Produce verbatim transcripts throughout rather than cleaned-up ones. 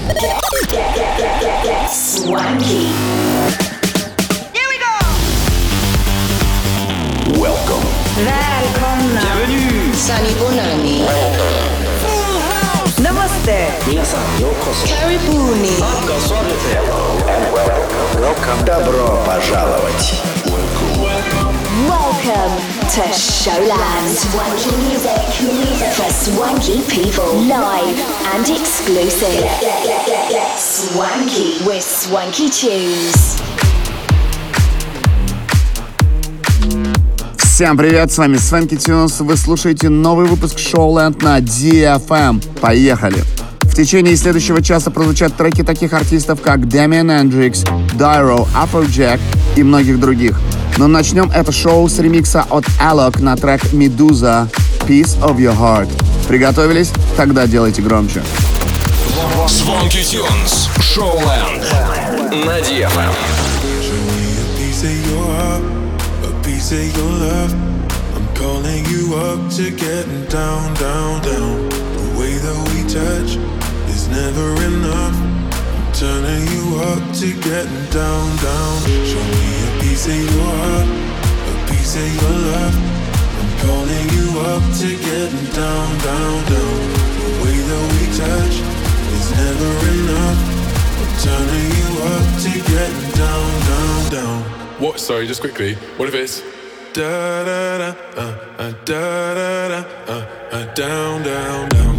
Swanky. Here we go! Welcome. Välkomna! Bienvenue. Sunny Bonani. Namaste! Karibuni. Welcome. Добро пожаловать. Welcome to Showland. Swanky music, music for swanky people, live and exclusive. Swanky with Swanky Tunes. Всем привет, с вами Swanky Tunes. Вы слушаете новый выпуск Showland на ди эф эм. Поехали! В течение следующего часа прозвучат треки таких артистов, как Damien Hendrix, Dyro, Afrojack и многих других. Но начнем это шоу с ремикса от Alok на трек Medusa «Piece of Your Heart». Приготовились? Тогда делайте громче. Swanky Tunes, Showland на ди эф эм. Piece of your love, I'm calling you up to getting down, down, down. The way that we touch is never enough. I'm turning you up to getting down, down. Show me a piece of your heart, a piece of your love. I'm calling you up to getting down, down, down. The way that we touch is never enough. I'm turning you up to getting down, down, down. What? Sorry, just quickly. What if it's da da da uh, uh, da da da uh, uh, down down down.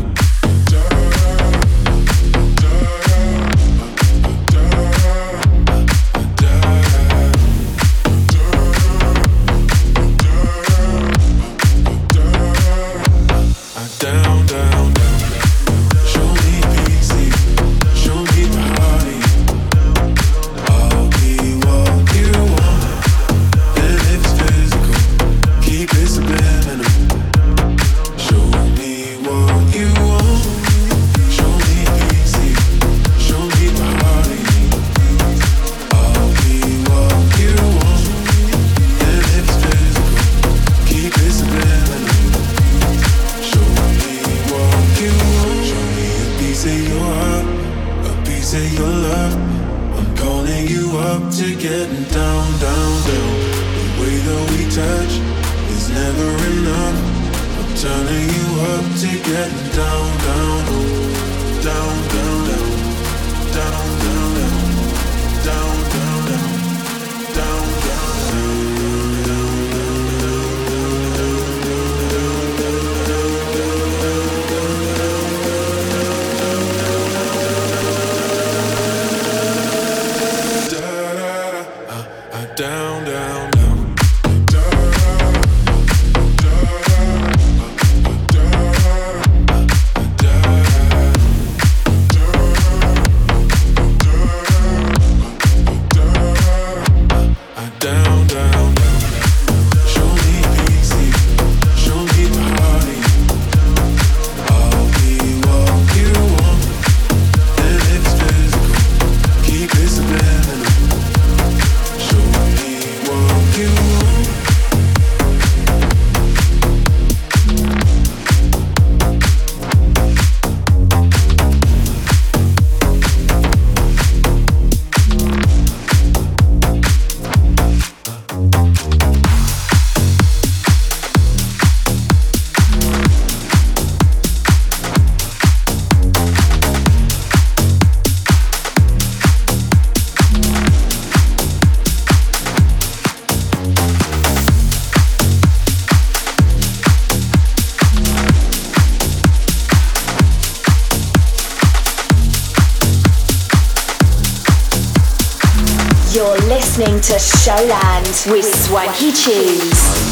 Listening to Showland with Swanky Tunes.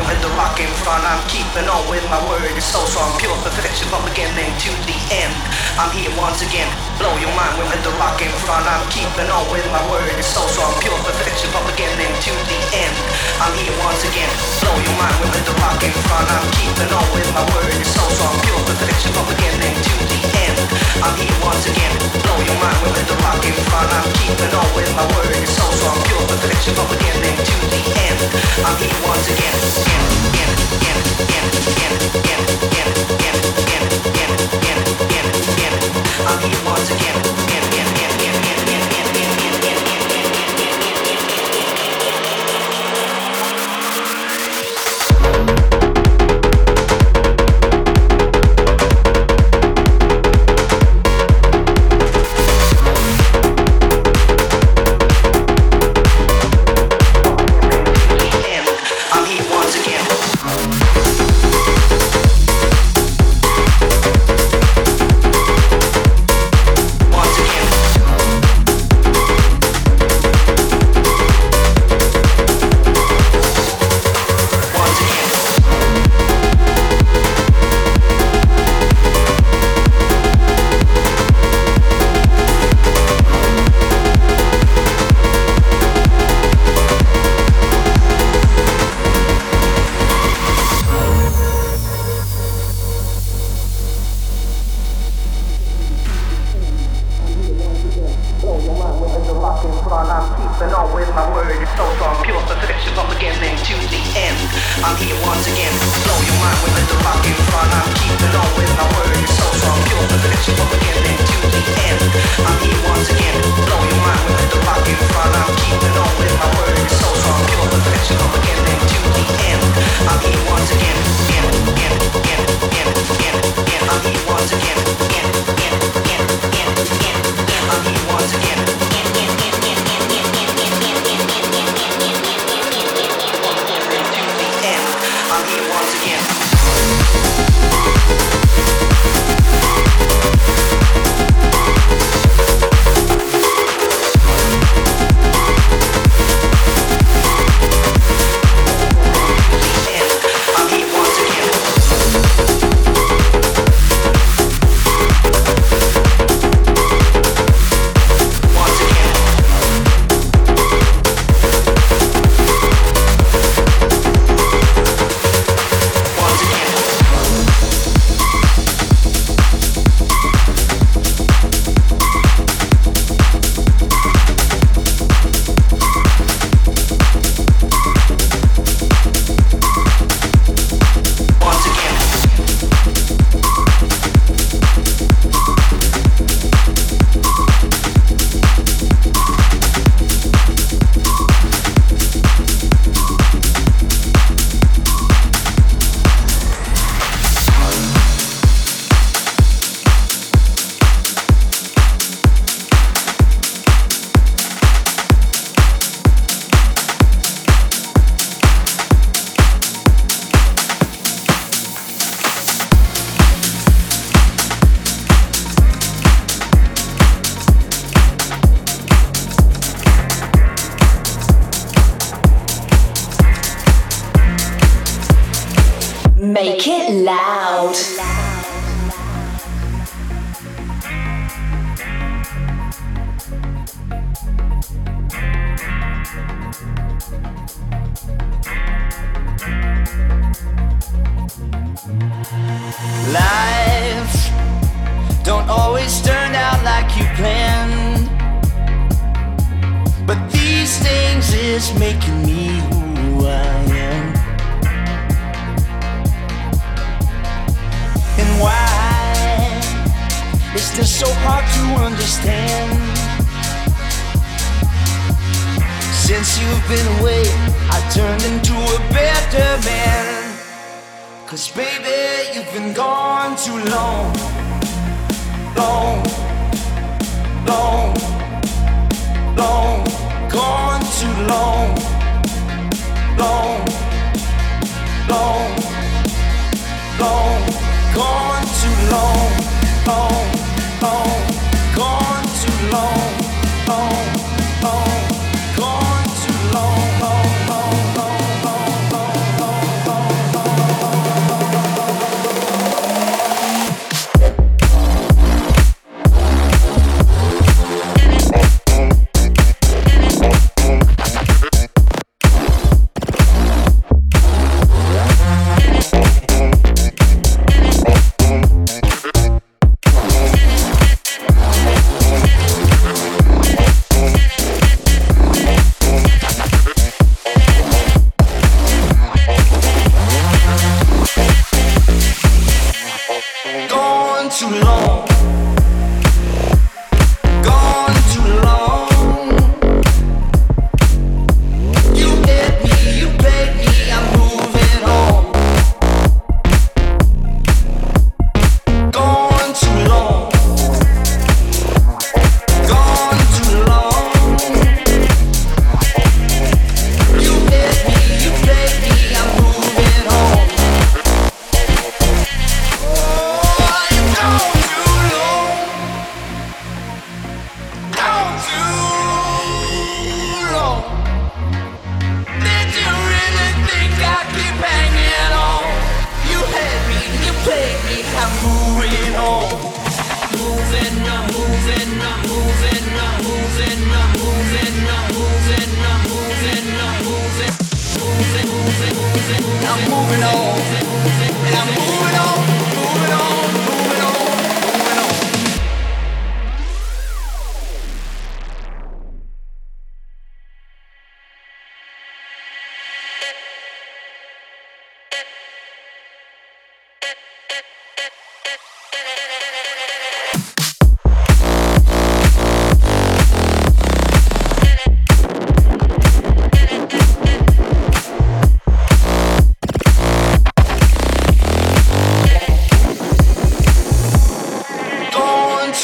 I'm keeping on with my word. It's so strong, pure perfection from beginning to the end. I'm here once again. Blow your mind with the rock in front. I'm keeping on with my word. It's so strong, pure perfection from beginning to the end. I'm here once again. Blow your mind with the rock in front. I'm keeping on with my word. It's so strong, pure perfection from beginning to the end. I'm here once again. Blow your mind with the rock in front. I'm keeping on with my word. It's so strong, pure perfection from beginning to the end. I'm here once again. Again, again, again, again, again, again, again, again, again, again, again, again, again. I'm here once again. Again, again, again, again, again, again, again, again, again, again. Make it loud. Life don't always turn out like you planned, but these things is making me who I am. And why is this so hard to understand? Since you've been away, I turned into a better man. 'Cause baby, you've been gone too long, long, long, long, gone too long, long, long, long, gone too long, long, long, gone too long, long, long, gone too long, long, long, long, long, long, long, long, long.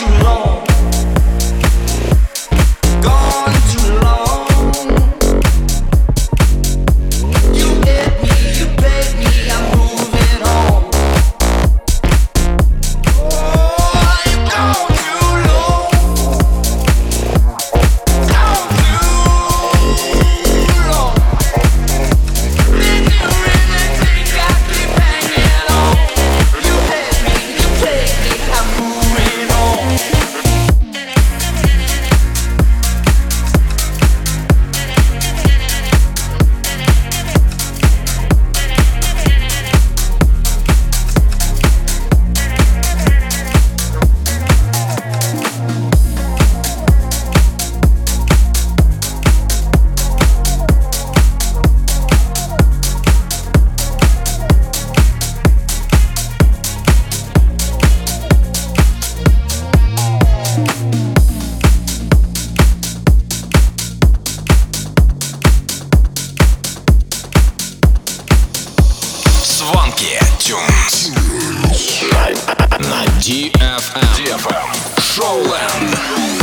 ди эф эм. Showland.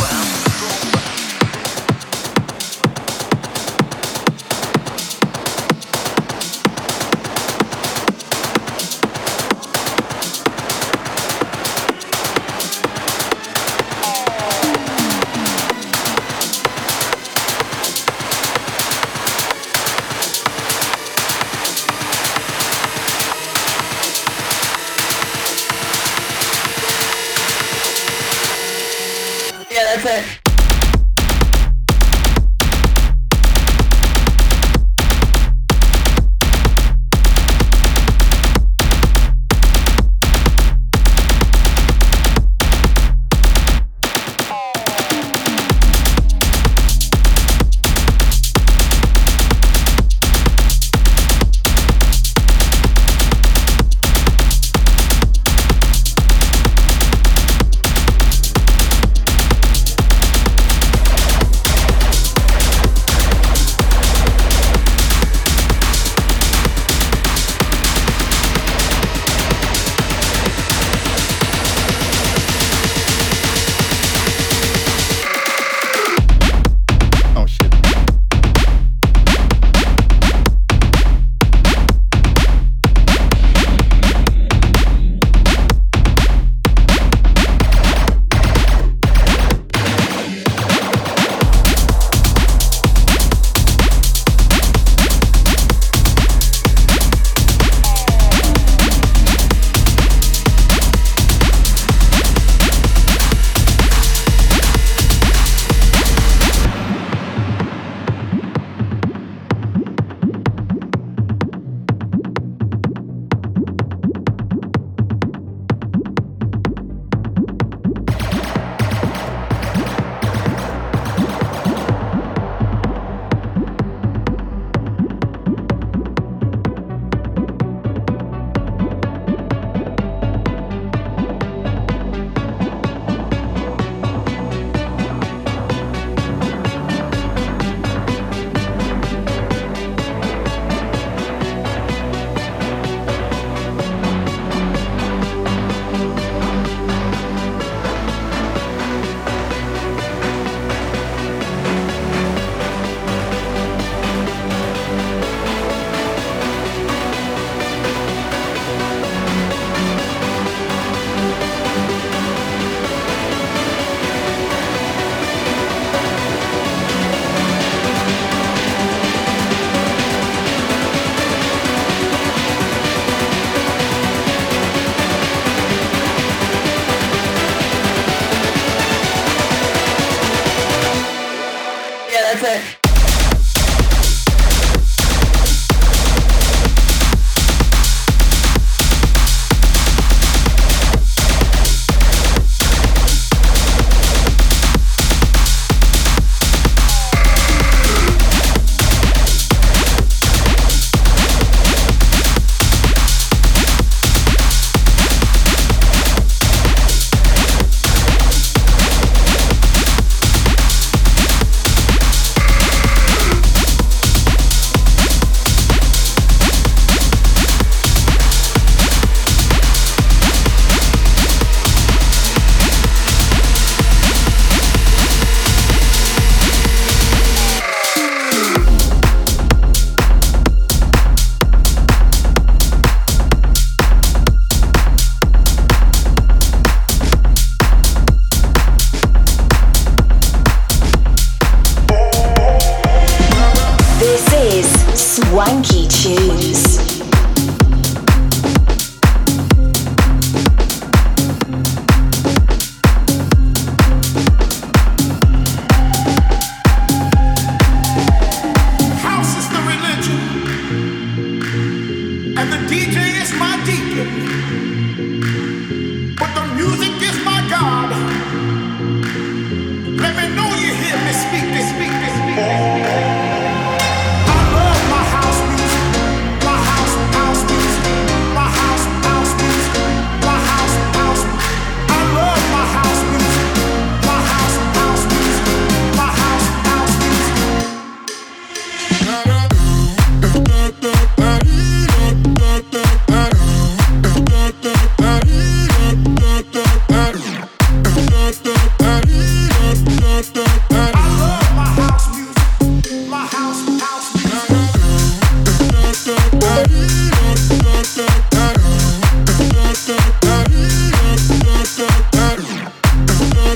That's it.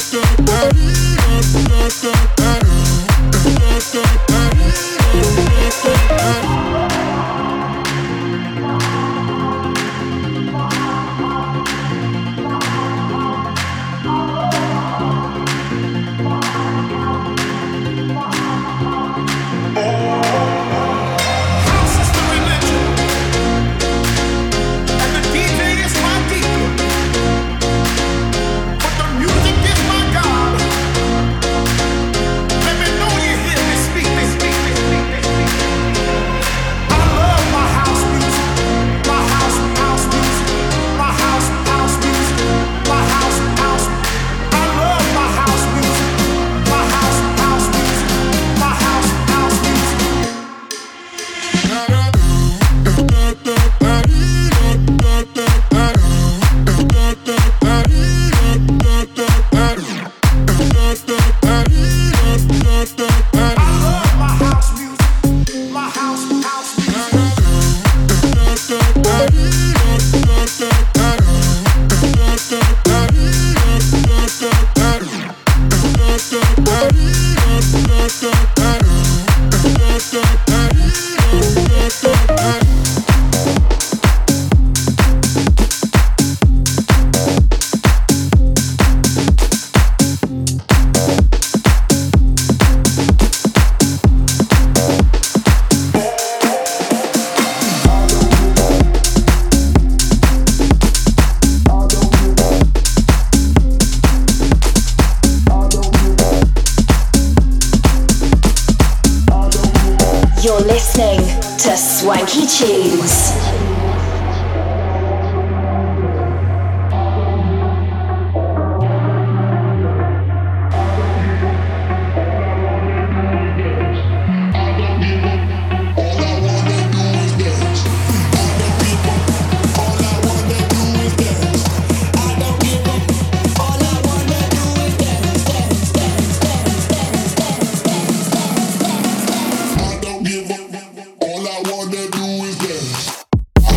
Swanky Tunes. All I wanna do is dance.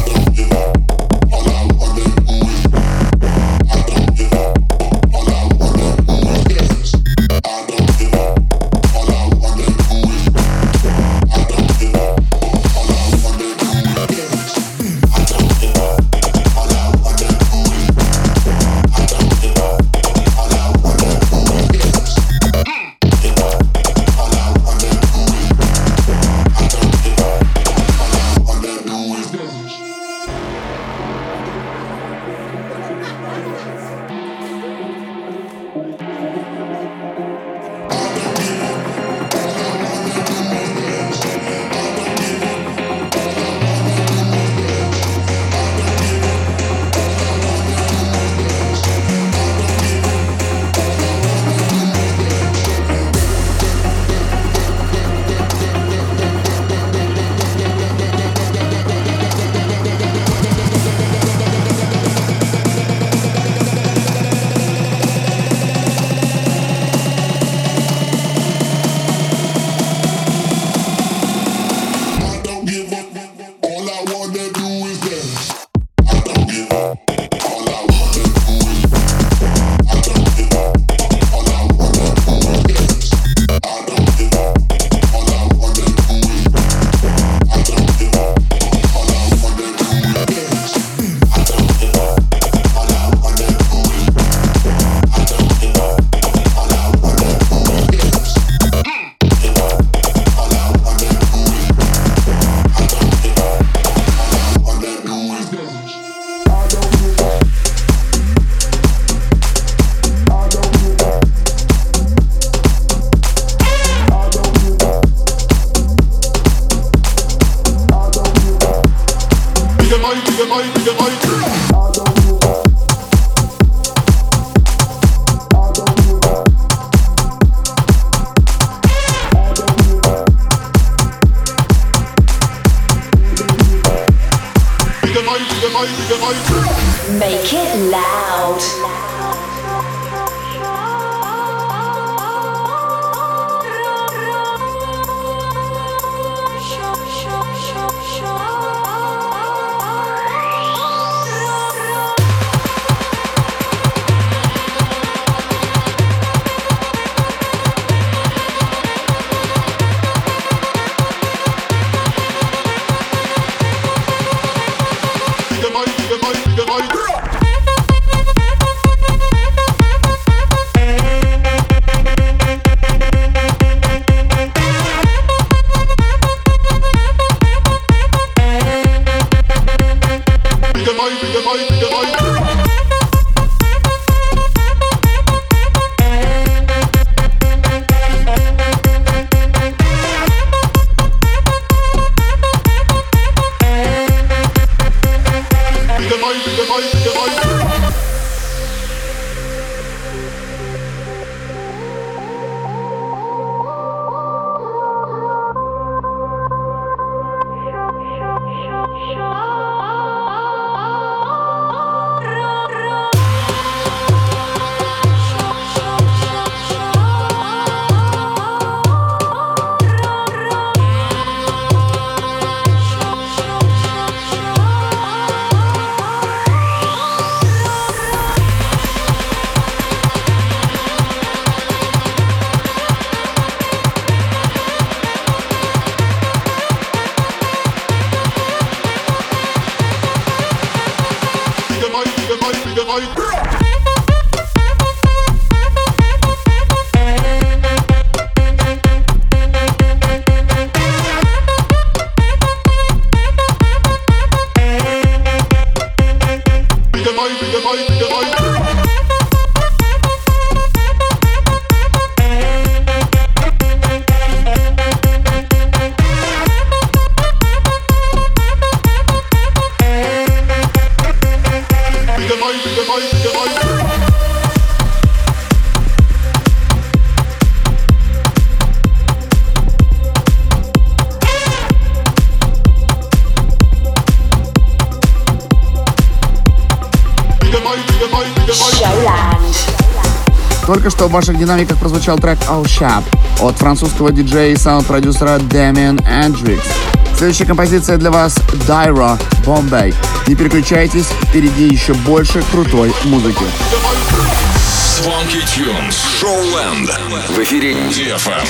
Только что в ваших динамиках прозвучал трек All Shap от французского диджея и саунд-продюсера Damien Hendrix. Следующая композиция для вас Dyro Bombay. Не переключайтесь, впереди еще больше крутой музыки. Swanky Tunes, Showland. В эфире ди эф эм.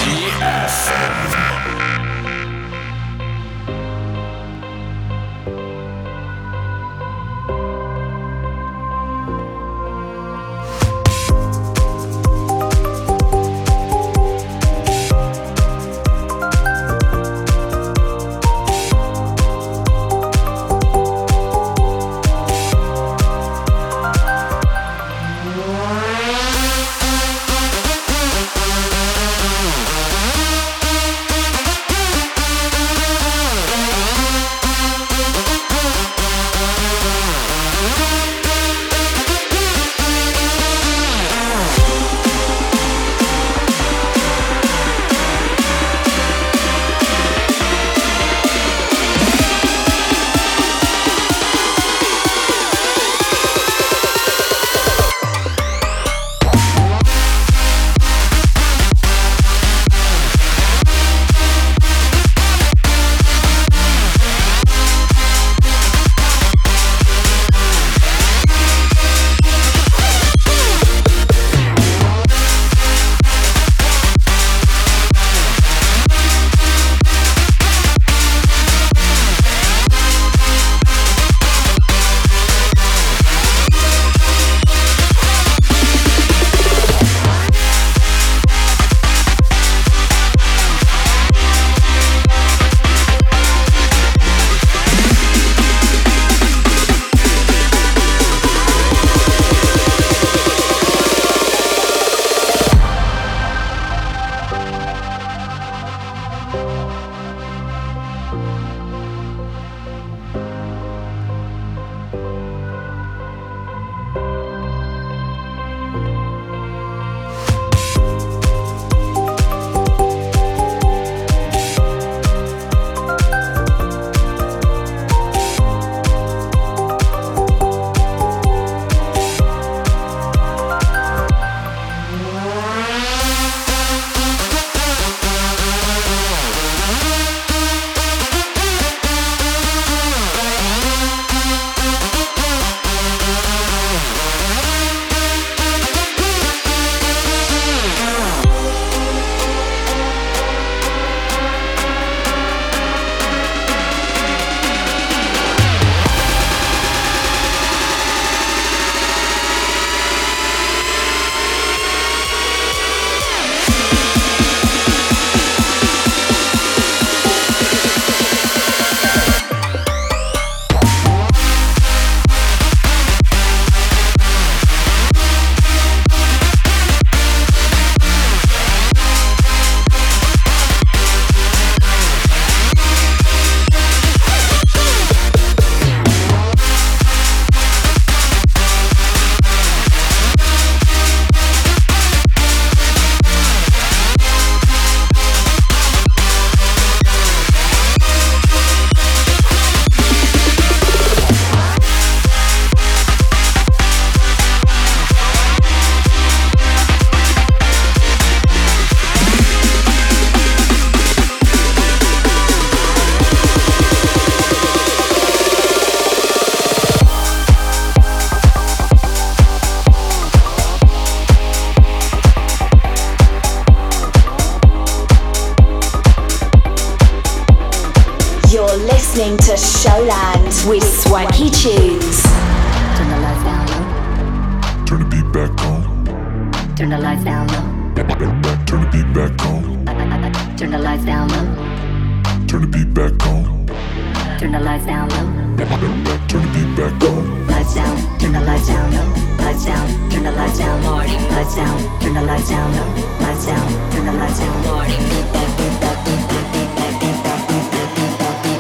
listening to Showland with Swanky Tunes. Turn the lights down low. Turn the beat back on. Turn the lights down low. Turn the beat back on. Turn the lights down low. Turn the beat back on. Turn the lights down low. Turn the beat back on. Lights down. Turn the lights down low. Lights down. Turn the lights down. Morning. Lights down. Turn the lights down low. Lights down. Turn the lights down. Morning. Beat back. Beat back. Beat back. Beat back. Beat back. Beat back. Beat back. Beat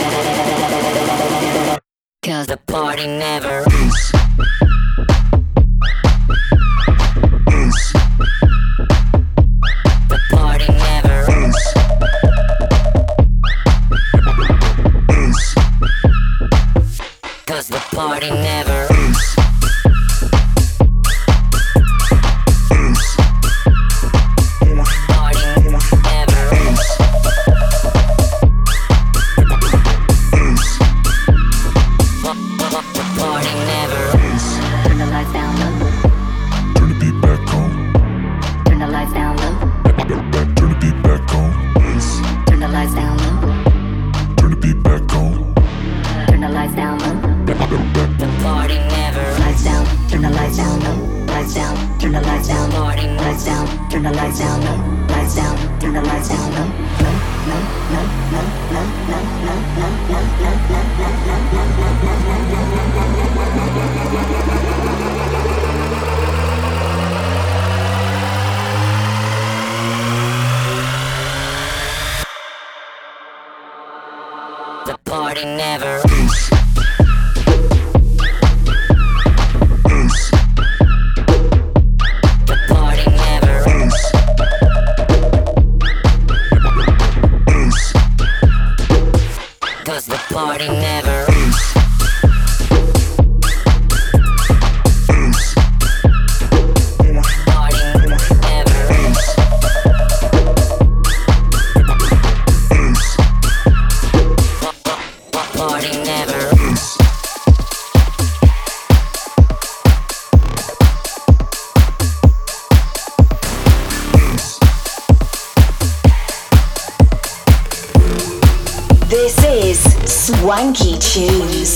back. 'Cause the party never ends. The party never ends. Cause the party never ends. lights down, turn the lights down low, lights down, turn the lights down low, low, low, low, low, low, low, low, low, low, low, the party never ends. Party never ends. Party never ends. Party never ends. This is Swanky Tunes.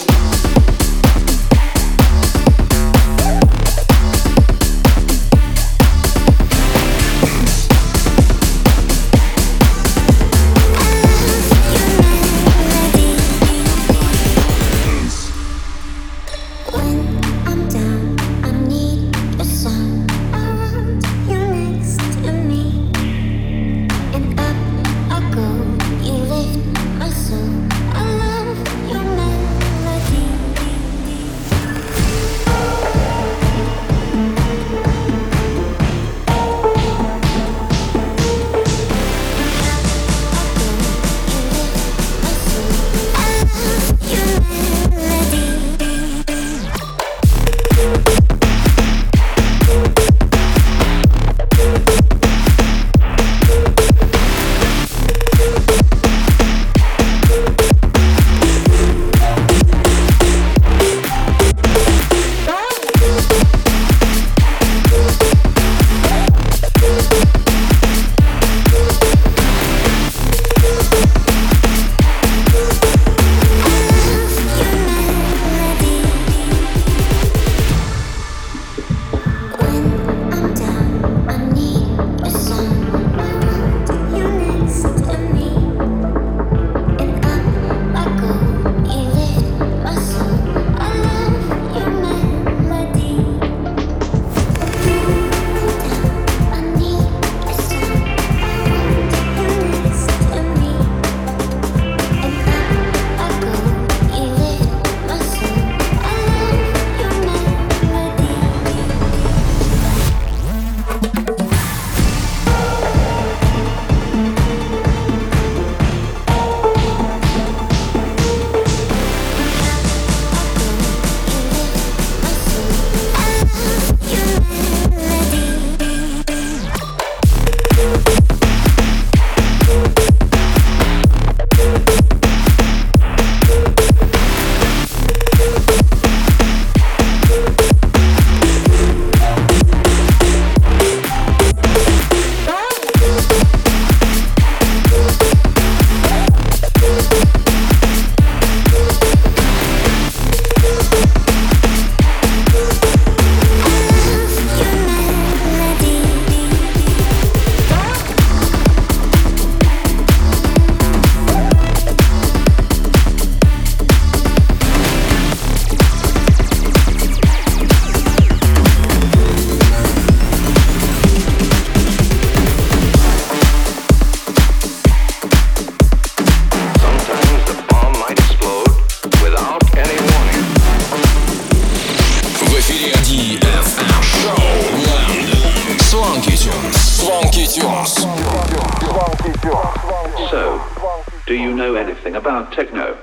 So, do you know anything about techno?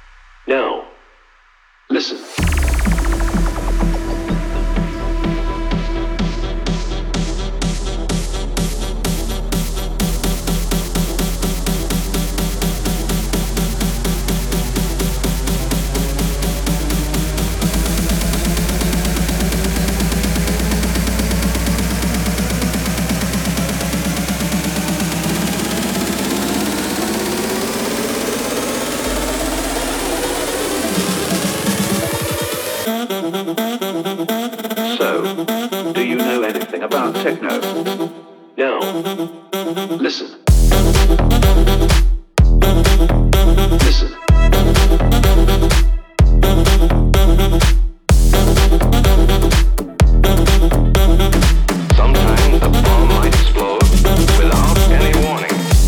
No. Listen. about techno? Now, listen. Listen. Sometimes the bomb might explode without any warning.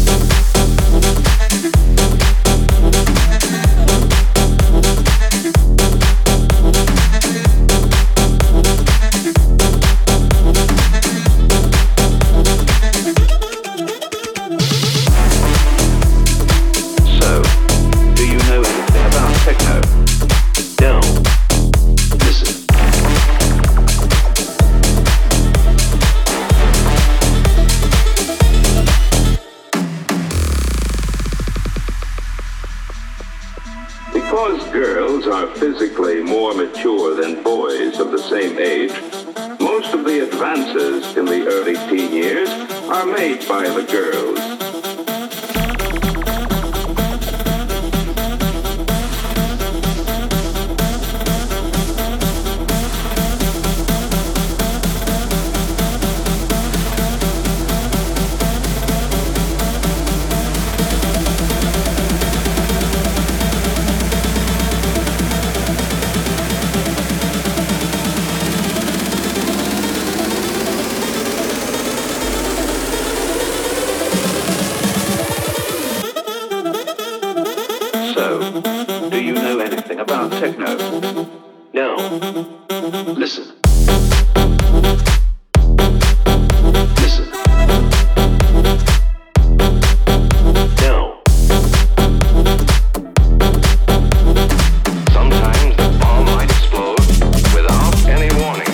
Physically more mature than boys of the same age, most of the advances in the early teen years are made by the girls. About techno. Now, listen. Listen. Now. Sometimes the bomb might explode without any warning.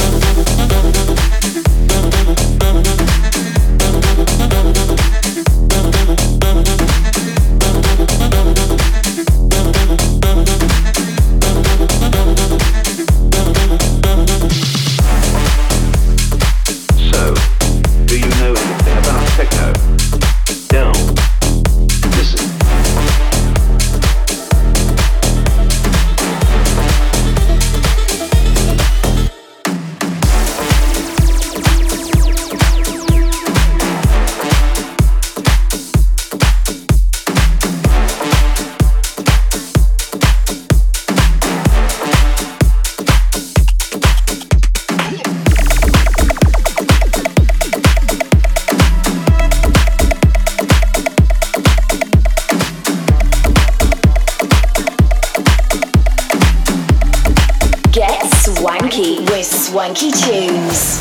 Swanky Tunes.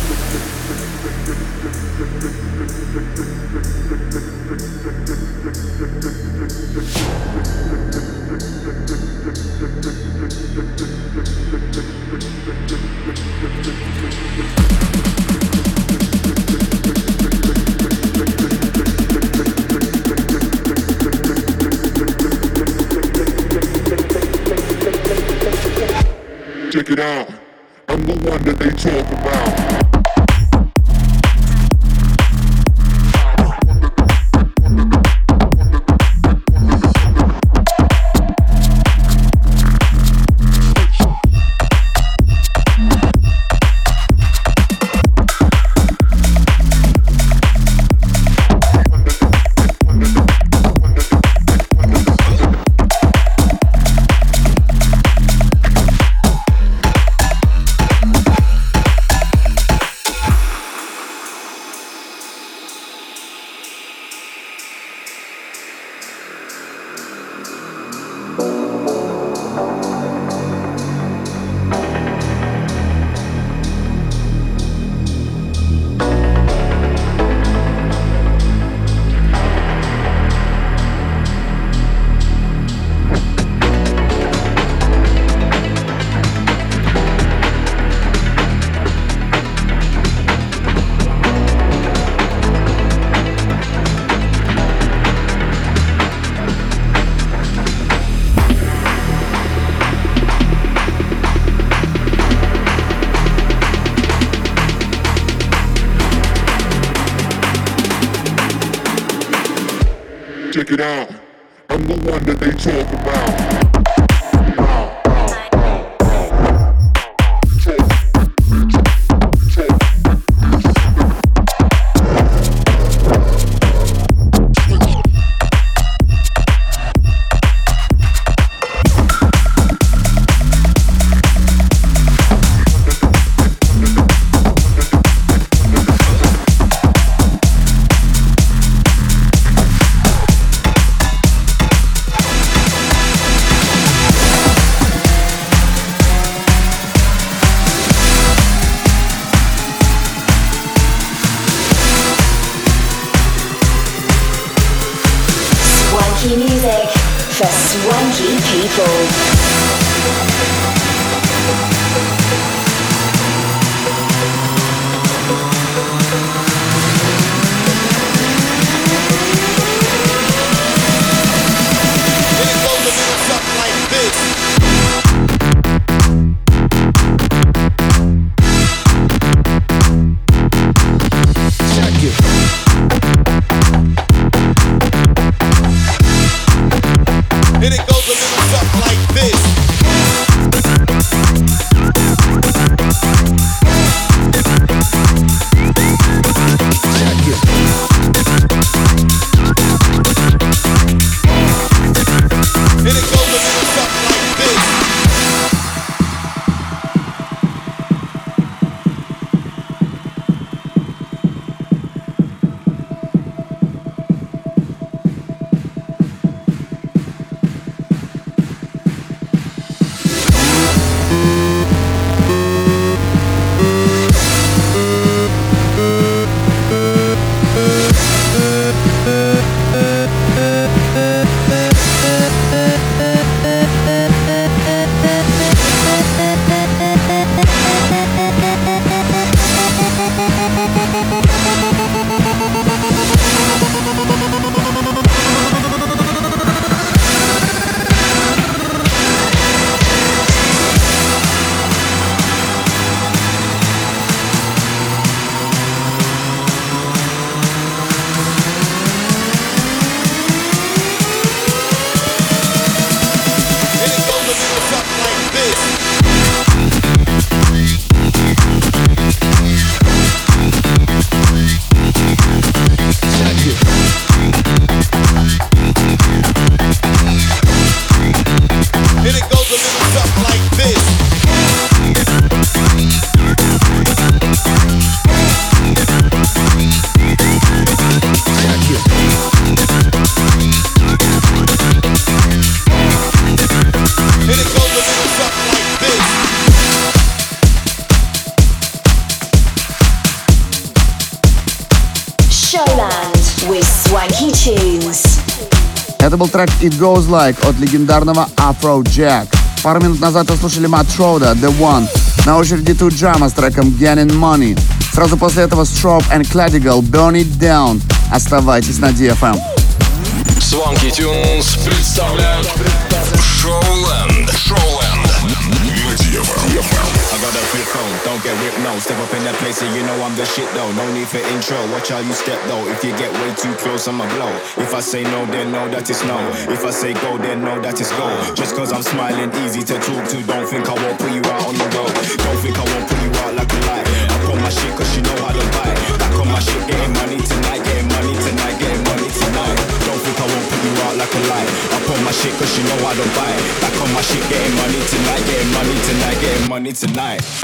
Check it out. I'm the one that they talk about. Check it out. I'm the one that they talk about. Talk, talk, talk, talk, talk, Swanky people. Это был трек It Goes Like от легендарного Afrojack. Пару минут назад вы слушали Matt Schroeder, The One. На очереди Two Jama с треком Getting Money. Сразу после этого Strobe and Cladigal, Burn It Down. Оставайтесь на ди эф эм. Swanky Tunes представляют Showland. Showland на ди эф эм. I got a flip phone, don't get whipped, no. Step up in that place and you know I'm the shit though. No need for intro, watch how you step though. If you get way too close, I'ma blow. If I say no, then know that it's no. If I say go, then know that it's go. Just cause I'm smiling, easy to talk to. Don't think I won't put you out on the road. Don't think I won't put you out like a light. I put my shit cause you know how to buy. Back on my shit, getting money tonight. Getting money tonight, getting money tonight. Don't think I won't put you out like a light. I put my shit cause you know how to buy. Back on my shit, getting money tonight. Getting money tonight, getting money tonight.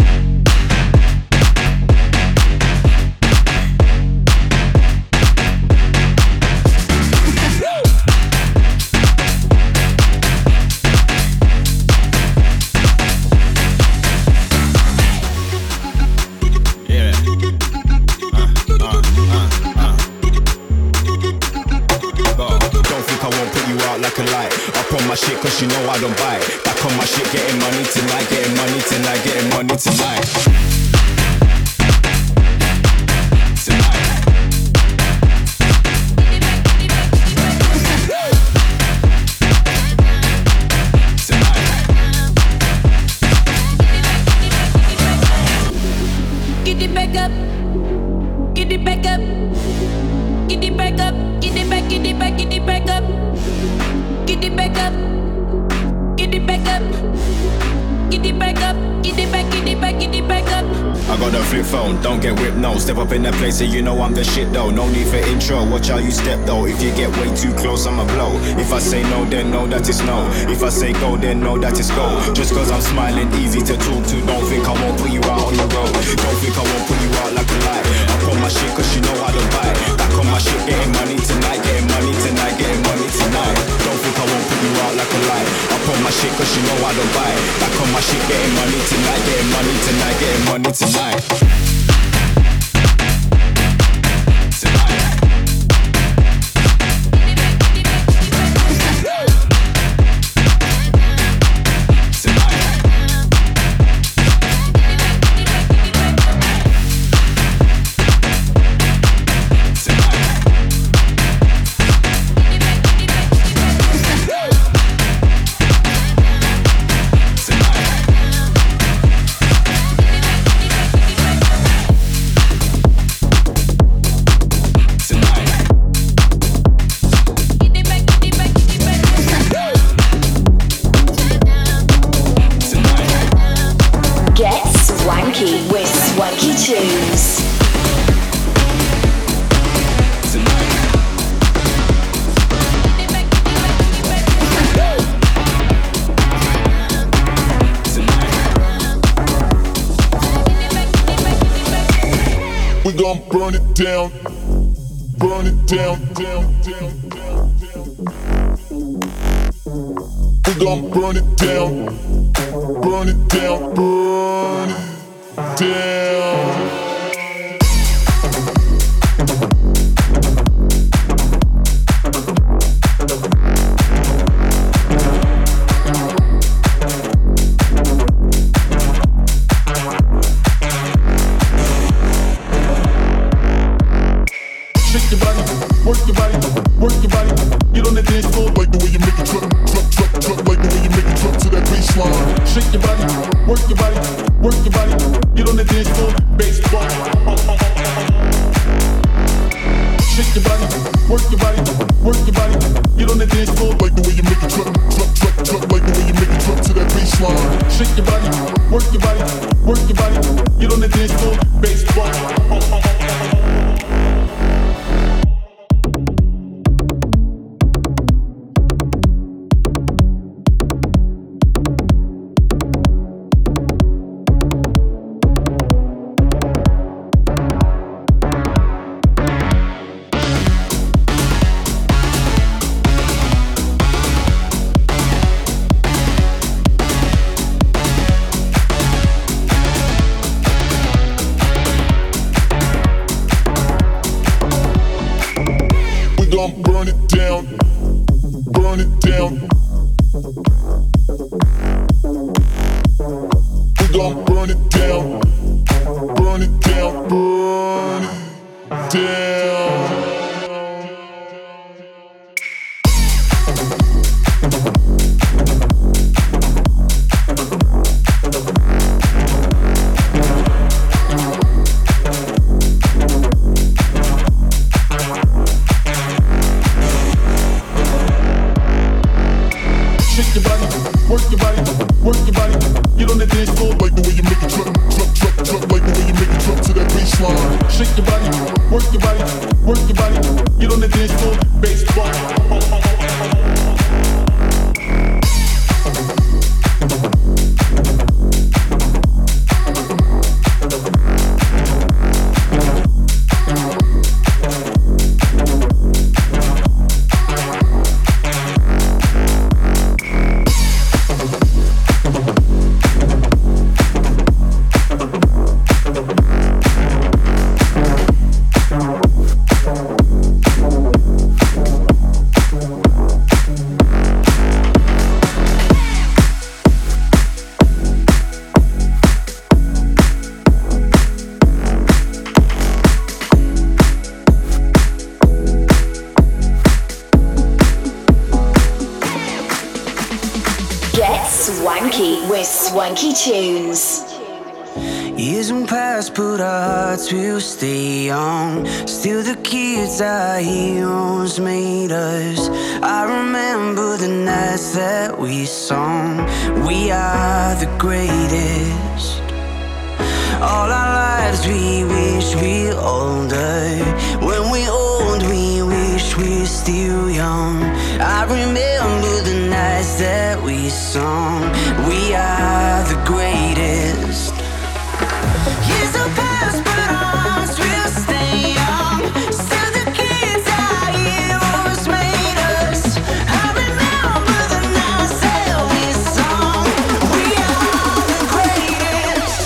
Cause you know I don't buy it. Back on my shit, getting money tonight, getting money tonight, getting money tonight. Get it back up, get it back up, get it back up, get it back, get it back, get it back up, get it back up. Get it back up, get it back up, get it back, get it back, get it back up. I got a flip phone, don't get whipped, no. Step up in that place and you know I'm the shit though. No need for intro, watch how you step though. If you get way too close, I'ma blow. If I say no, then know that it's no. If I say go, then know that it's go. Just cause I'm smiling, easy to talk to. Don't think I won't put you out on the road. Don't think I won't put you out like a light. I put my shit cause you know how to buy. Back on my shit, getting money tonight, getting money tonight, getting money tonight. Don't think I won't put you out like a light. I put my shit cause you know I don't buy. Back on my shit, getting money tonight, getting money tonight, getting money tonight. burn it down, burn it down, down, down, down, down. We gon' burn it down, burn it down, burn it down. Work your body, work your body. Get on the dance floor, like the way you make it drop, drop, drop, drop, like the way you make it drop to that baseline. Shake your body, work your body, work your body. Get on the dance floor, baseball. Shake your body, work your body, work your body. Get on the dance floor, like the way you make it drop, drop, drop, drop, like the way you make it drop to that baseline. Shake your body, work your body, work your body. Get on the dance floor, baseball. Burn it down, burn it down. We gon' burn it down, burn it down, burn it down. Work your body, work your body. Get on the dance floor, like the way you make it drop, drop, drop, drop, like the way you make it drop to that baseline. Shake your body, work your body, work your body. Get on the dance floor, baseball. Swanky with Swanky Tunes. Years won't pass, but our hearts will stay young. Still the kids our heroes made us. I remember the nights that we sung. We are the greatest. All our lives we wish we're older. When we're old we wish we're still young. I remember the nights that we sung. We are the greatest. Years will pass, but our hearts will stay young. Still the kids our heroes made us. I remember the nights that we sung. We are the greatest.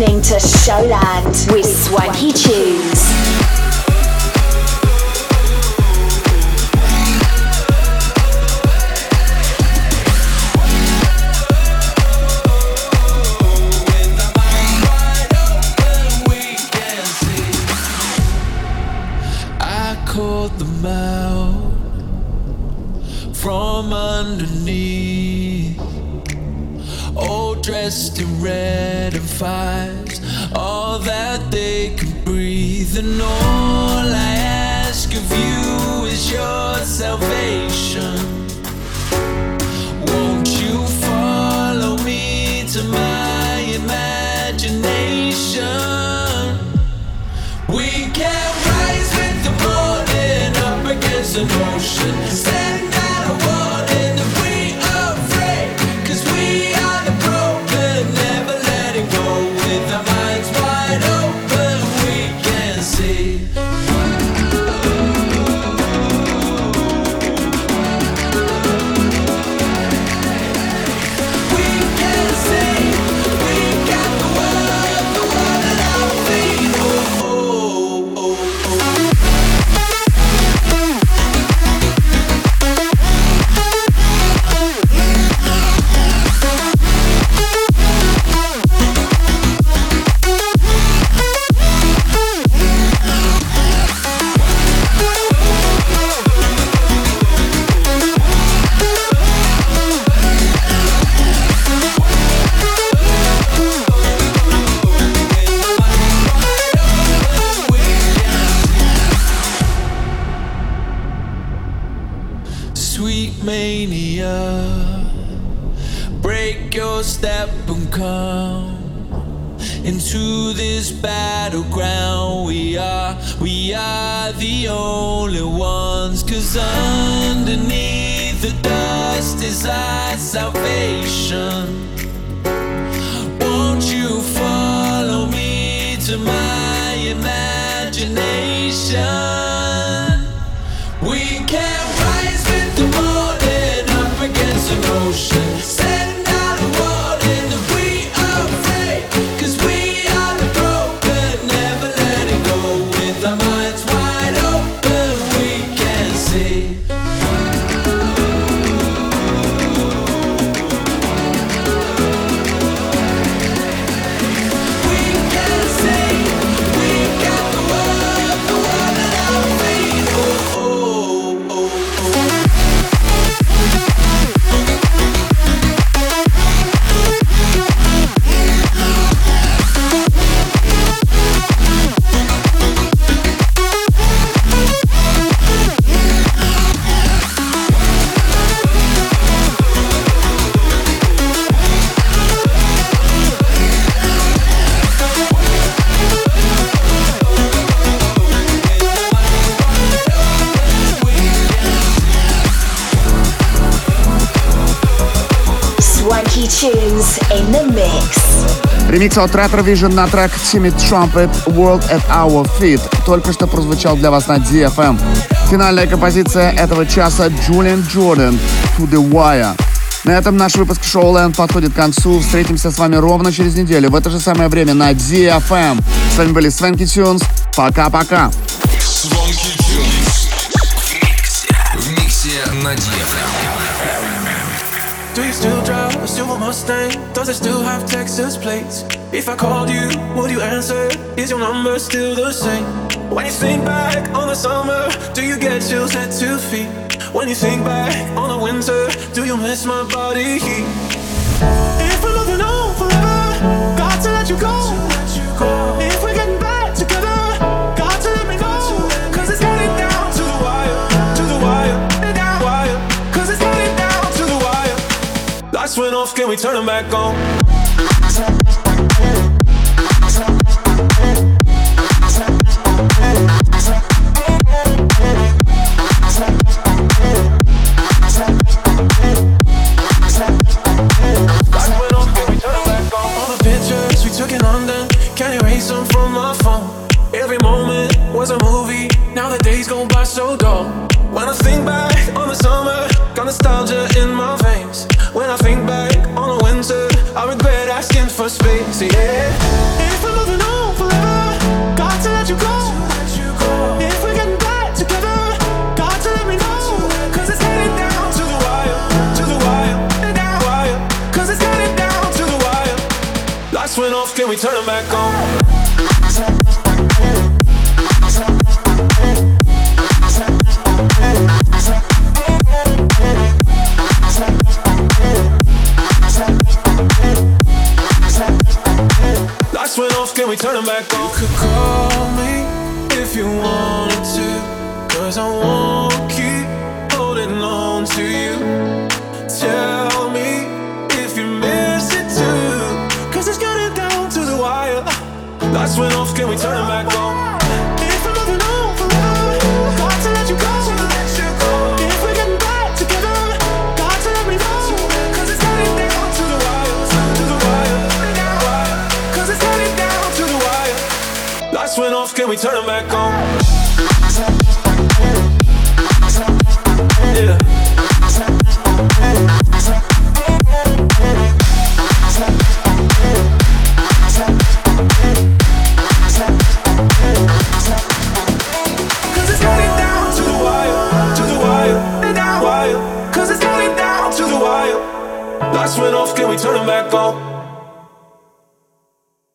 listening to Showland with Swanky Tunes. Called them out from underneath, all dressed in red and fives, all that they can breathe. And all I ask of you is your salvation. Won't you follow me to my imagination? We can rise with the morning up against an ocean, stand out a wall and if we afraid, cause we are the broken, never letting go. With our minds wide open we can see. We can see, we got the world, the world at our feet. Oh, oh, oh, oh. Sweet mania, break your step and come into this battleground. We are, we are the only ones, cause underneath the dust is our salvation. Won't you follow me to my imagination? We can rise with the morning up against an ocean, stand out a wall and if we afraid, cause we are the broken, never letting go. With our minds wide open we can see. We can see, we got the world, the world at our feet. Oh, oh, oh, oh. Swanky Tunes in the mix. Ремикс от Retrovision на трек Timid Trumpet World at Our Feet только что прозвучал для вас на ди эф эм. Финальная композиция этого часа Julian Jordan To The Wire. На этом наш выпуск Showland подходит к концу. Встретимся с вами ровно через неделю в это же самое время на ди эф эм. С вами были Swanky Tunes. Пока-пока. Swanky Tunes в миксе на ди эф эм. Do you still drive a silver Mustang? Does it still have Texas plates? If I called you, would you answer? Is your number still the same? When you think back on the summer, do you get chills at two feet? When you think back on the winter, do you miss my body heat? If we're moving on forever, got to let you go. If we're getting back together, got to let me know. Cause it's getting down to the wire, to the wire, down wire. Cause it's getting down to the wire. Lights went off, can we turn them back on? So dull. When I think back on the summer, got nostalgia in my veins. When I think back on the winter, I regret asking for space. Yeah. If Lights went off, can we turn them back on? Lights went off, can we turn them back on? You could call me if you wanted to, cause I won't keep holding on to you. Tell me if you miss it too, cause it's getting down to the wire. Lights went off, can we turn them back on? If I'm moving on forever, got to let you go. If we're getting back together, got to let me know. Cause it's getting down to the wire, to the wire, wire. Cause it's getting down to the wire. Lights went off, can we turn them back on? Yeah. Lights went off, can we turn them back on?